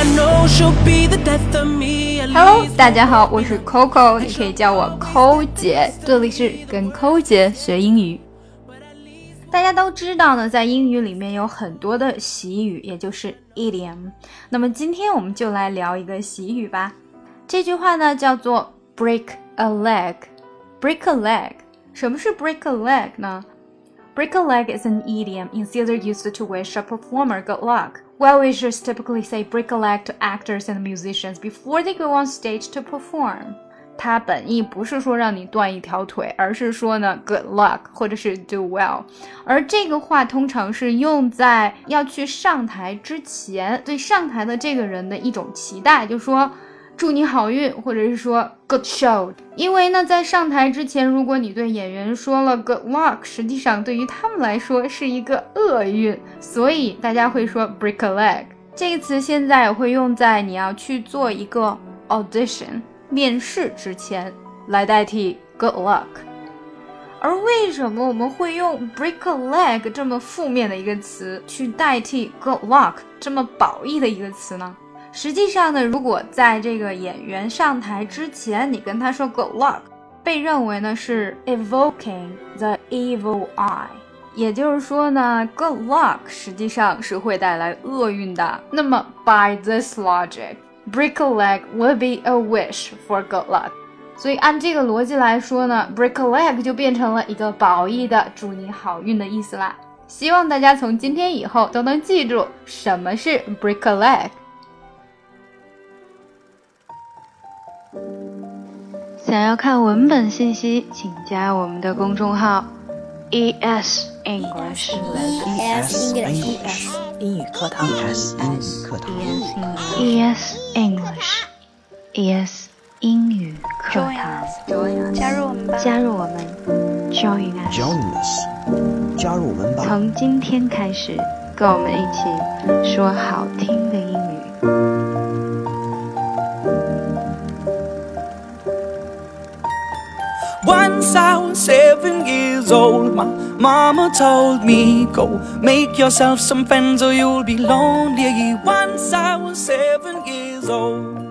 Hello， 大家好，我是 Coco， 你可以叫我抠姐，这里是跟抠姐学英语。大家都知道呢，在英语里面有很多的习语，也就是 idiom。那么今天我们就来聊一个习语吧。这句话呢叫做 break a leg。break a leg， 什么是 break a leg 呢？ Break a leg is an idiom instead used to wish a performer good luck.Well, wishers typically say break a leg to actors and musicians before they go on stage to perform. 它本意不是说让你断一条腿，而是说呢 good luck 或者是 do well。而这个话通常是用在要去上台之前，对上台的这个人的一种期待，就说祝你好运，或者是说 good show。 因为呢在上台之前，如果你对演员说了 good luck， 实际上对于他们来说是一个厄运，所以大家会说 break a leg。 这个词现在也会用在你要去做一个 audition 面试之前来代替 good luck。 而为什么我们会用 break a leg 这么负面的一个词去代替 good luck 这么褒义的一个词呢？实际上呢，如果在这个演员上台之前你跟他说 good luck， 被认为呢是 evoking the evil eye， 也就是说呢 good luck 实际上是会带来厄运的。那么 by this logic break a leg would be a wish for good luck， 所以按这个逻辑来说呢 break a leg 就变成了一个褒义的祝你好运的意思啦。希望大家从今天以后都能记住什么是 break a leg。想要看文本信息，请加我们的公众号 ES English 英语课堂 ES English 英语课堂， 加入我们吧， 加入我们 Join us， 加入我们吧。 从今天开始，跟我们一起说好听的英语。 Once I was 7 years old, my mama told me, go make yourself some friends or you'll be lonely. Once I was 7 years old.